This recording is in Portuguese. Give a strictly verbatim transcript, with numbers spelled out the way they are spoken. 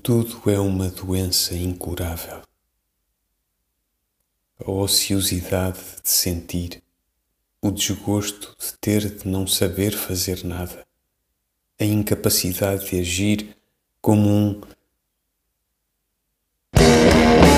Tudo é uma doença incurável. A ociosidade de sentir, o desgosto de ter de não saber fazer nada, a incapacidade de agir como um